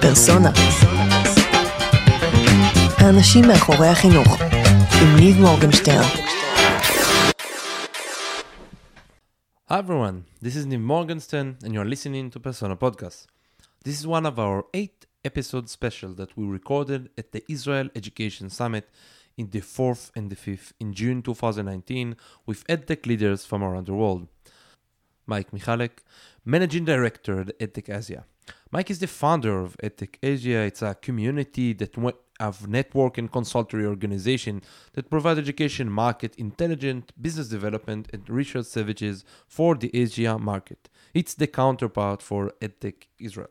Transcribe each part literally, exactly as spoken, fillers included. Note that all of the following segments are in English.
פרסונה. האנשים מאחורי החינוך, עם ניב מורגנשטרן. Hi everyone, this is Niv Morgenstern and you're listening to Persona Podcast. This is one of our eight episode special that we recorded at the Israel Education Summit in the fourth and the fifth in June twenty nineteen with EdTech leaders from around the world. Mike Michalek, Managing Director at EdTech Asia. Mike is the founder of EdTech Asia. It's a community that of network and consultancy organization that provide education market intelligent business development and research services for the Asia market. It's the counterpart for EdTech Israel.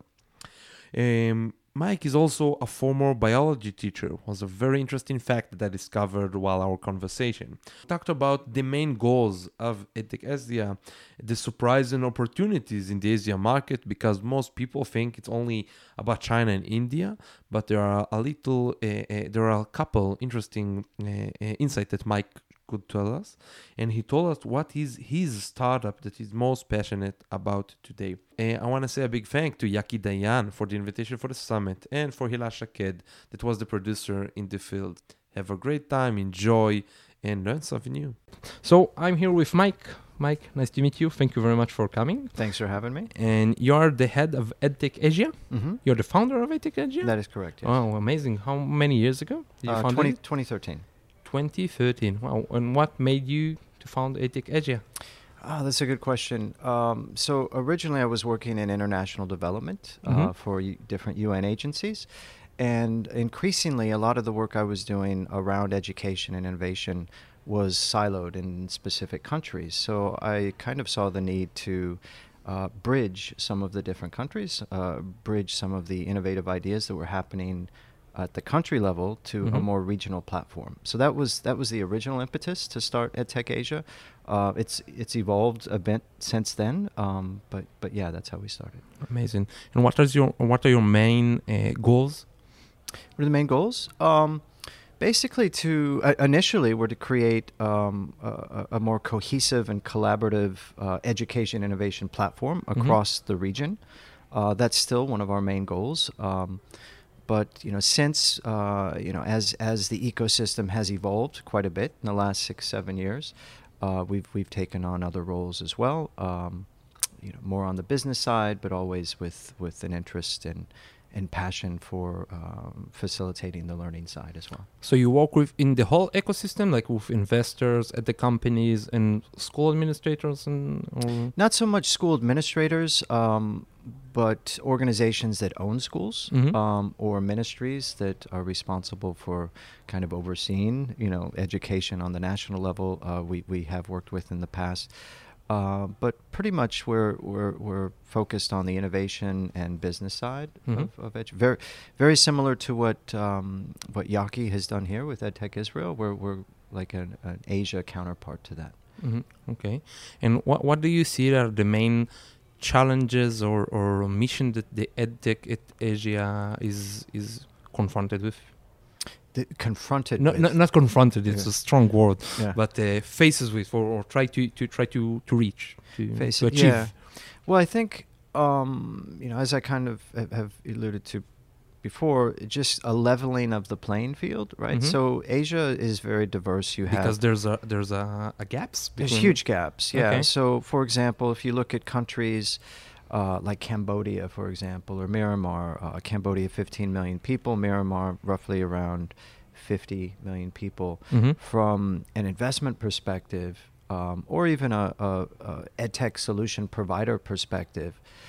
Um, Mike is also a former biology teacher. It was a very interesting fact that I discovered while our conversation. We talked about the main goals of EdTech Asia, the surprising opportunities in the Asia market, because most people think it's only about China and India, but there are a little, uh, uh, there are a couple interesting uh, uh, insights that Mike could tell us, and he told us what is his startup that he's most passionate about today. Uh, I want to say a big thank to Yaki Dayan for the invitation for the summit and for Hila Shaked that was the producer in the field. Have a great time, enjoy, and learn something new. So I'm here with Mike. Mike, nice to meet you. Thank you very much for coming. Thanks for having me. And you're the head of EdTech Asia? Mm-hmm. You're the founder of EdTech Asia? That is correct, yes. Oh, amazing. How many years ago did you Uh, found twenty, it? twenty thirteen. twenty thirteen. Wow. And what made you to found EdTech Asia? Ah, that's a good question. Um, so originally I was working in international development uh, Mhm. for u- different U N agencies. And increasingly, a lot of the work I was doing around education and innovation was siloed in specific countries. So I kind of saw the need to uh, bridge some of the different countries, uh, bridge some of the innovative ideas that were happening at the country level to a Mhm. more regional platform. So that was that was the original impetus to start EdTech Asia. Uh, it's it's evolved a bit since then, um, but but yeah, that's how we started. Amazing. And what is your what are your main uh, goals? What are the main goals? Um, basically, to uh, initially were to create um, a, a more cohesive and collaborative uh, education innovation platform across the region. Uh, that's still one of our main goals. Um, But you know, since uh, you know, as as the ecosystem has evolved quite a bit in the last six seven years, uh, we've we've taken on other roles as well. Um, you know, more on the business side, but always with with an interest and and passion for um, facilitating the learning side as well. So you work with in the whole ecosystem, like with investors at the companies and school administrators, and or? Not so much school administrators, um, but organizations that own schools, Mhm. um, or ministries that are responsible for kind of overseeing, you know, education on the national level. Uh, we we have worked with in the past. Uh, but pretty much we're, we're we're focused on the innovation and business side Mhm. of, of edu- very very similar to what um, what Yaki has done here with EdTech Israel. We're we're like an, an Asia counterpart to that. Mhm. Okay. And what what do you see are the main challenges or, or mission that the EdTech at Asia is is confronted with? The, confronted No, with no, not confronted. It's Yeah. a strong word, Yeah. but uh, faces with or, or try to, to try to, to reach to, Face to it, achieve. yeah. Well, I think um, you know, as I kind of have, have alluded to before, just a leveling of the playing field, right? Mhm. So Asia is very diverse. You have Because there's a there's a, a gaps. There's between- huge gaps, yeah. Okay. So, for example, if you look at countries uh, like Cambodia, for example, or Myanmar, uh, Cambodia, fifteen million people, Myanmar, roughly around fifty million people. Mhm. From an investment perspective, um, or even a, a, a edtech solution provider perspective,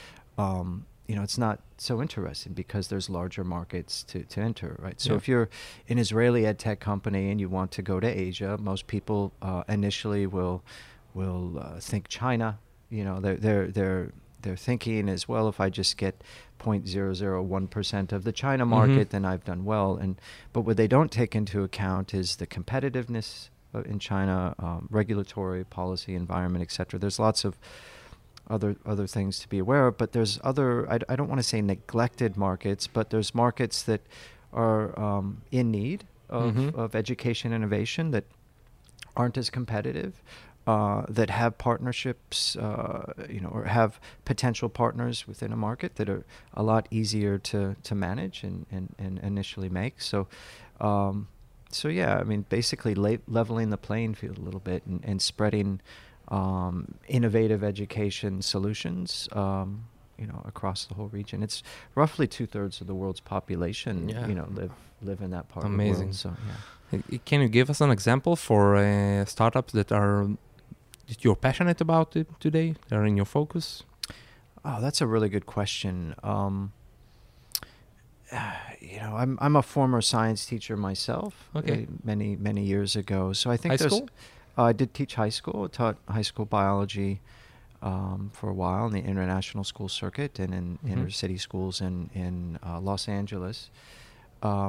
um, you know, it's not so interesting because there's larger markets to, to enter, right? So Yeah. if you're an Israeli edtech company and you want to go to Asia, most people uh, initially will will uh, think China. You know, they're they're they're they're thinking as well. If I just get zero point zero zero one percent of the China market, Mhm. then I've done well. And but what they don't take into account is the competitiveness uh, in China, um, regulatory policy, environment, et cetera. There's lots of other other things to be aware of, but there's other, I, I don't want to say neglected markets, but there's markets that are um, in need of, Mhm. of education innovation that aren't as competitive. uh, that have partnerships, uh, you know, or have potential partners within a market that are a lot easier to, to manage and, and, and initially make. So, um, so yeah, I mean, basically la- leveling the playing field a little bit and, and spreading um, innovative education solutions, um, you know, across the whole region. It's roughly two thirds of the world's population, Yeah. you know, live live in that part Amazing. of the world. So yeah. Uh, Can you give us an example for uh, startups that are that you're passionate about it today? That are in your focus? Oh, that's a really good question. Um, you know, I'm I'm a former science teacher myself. Okay. Uh, many many years ago. So I think High there's. school? Uh, I did teach high school. Taught high school biology um, for a while in the international school circuit and in Mhm. inner city schools in in uh, Los Angeles. Um,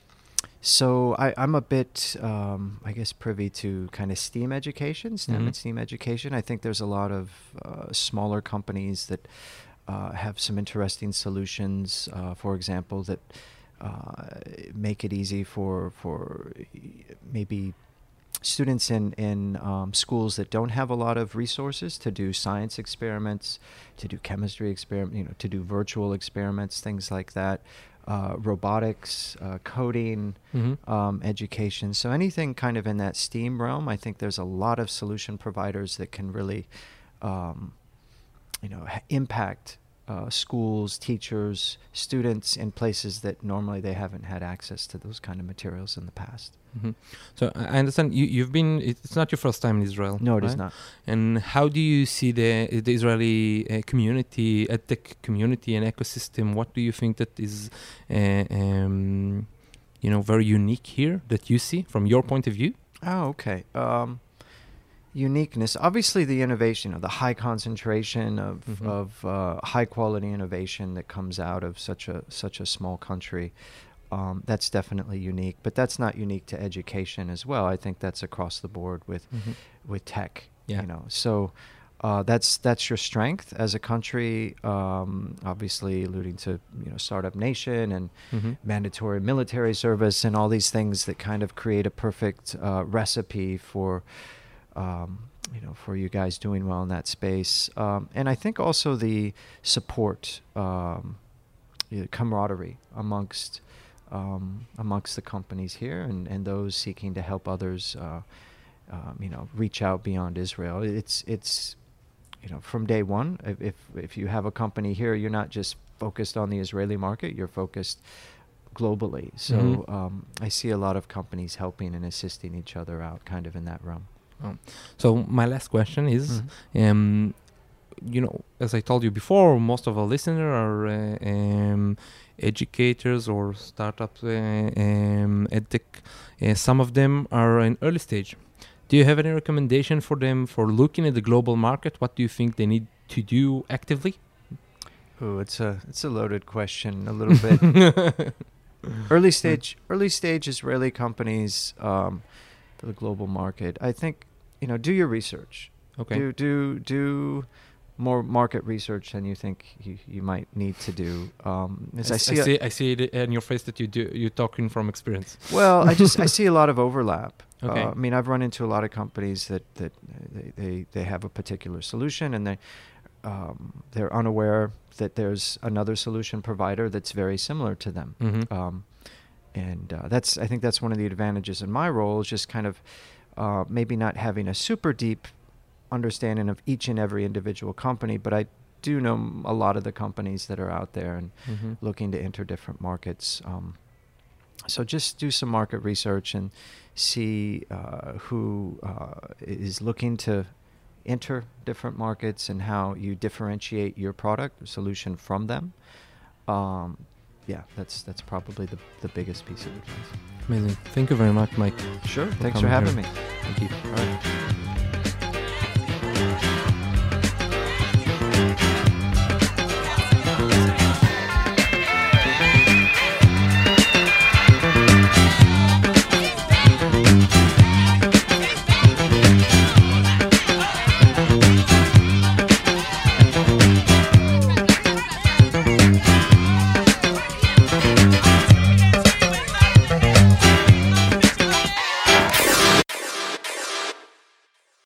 so I, I'm a bit, um, I guess, privy to kind of STEAM education, STEM Mhm. and STEAM education. I think there's a lot of uh, smaller companies that uh, have some interesting solutions, uh, for example, that uh, make it easy for for maybe students in in um, schools that don't have a lot of resources to do science experiments, to do chemistry experiment, you know, to do virtual experiments, things like that, uh, robotics, uh, coding, Mhm. um, education. So anything kind of in that STEAM realm, I think there's a lot of solution providers that can really, um, you know, ha- impact uh, schools, teachers, students in places that normally they haven't had access to those kind of materials in the past. Mhm. So I I understand you, you've been, it's not your first time in Israel. No, it is right? not. And how do you see the, the Israeli uh, community, edtech community and ecosystem? What do you think that is, uh, um, you know, very unique here that you see from your point of view? Oh, okay. Um, uniqueness. Obviously, the innovation, of the high concentration of Mhm. of uh, high quality innovation that comes out of such a such a small country. Um, that's definitely unique, but that's not unique to education as well. I think that's across the board with Mhm. with tech. Yeah. You know, so uh, that's that's your strength as a country. Um, obviously, alluding to you know startup nation and Mhm. mandatory military service and all these things that kind of create a perfect uh, recipe for. Um, you know, for you guys doing well in that space, um, and I think also the support, um, you know, camaraderie amongst um, amongst the companies here and, and those seeking to help others, uh, um, you know, reach out beyond Israel. It's it's you know from day one. If, if if you have a company here, you're not just focused on the Israeli market. You're focused globally. So Mhm. um, I see a lot of companies helping and assisting each other out, kind of in that realm. Oh. So my last question is, Mhm. um, you know, as I told you before, most of our listeners are uh, um, educators or startups, uh, um, edtech. Uh, some of them are in early stage. Do you have any recommendation for them for looking at the global market? What do you think they need to do actively? Oh, it's a it's a loaded question a little bit. Early stage early stage Israeli companies um, for the global market. I think you know do your research. Okay. Do do do more market research than you think you, you might need to do. Um, as I, I s- see, I a- see, I see it in your face that you do. You're talking from experience. well, I just I see a lot of overlap. Okay. Uh, I mean, I've run into a lot of companies that that uh, they they, they have a particular solution and they um, they're unaware that there's another solution provider that's very similar to them. Mhm. Um, and uh, that's I think that's one of the advantages in my role is just kind of uh, maybe not having a super deep understanding of each and every individual company, but I do know m- a lot of the companies that are out there and Mhm. looking to enter different markets. Um, so just do some market research and see uh, who uh, is looking to enter different markets and how you differentiate your product or solution from them. Um, yeah, that's that's probably the, the biggest piece of advice. Amazing. Thank you very much, Mike. Sure. Thanks coming for having here. me. Thank you. All right.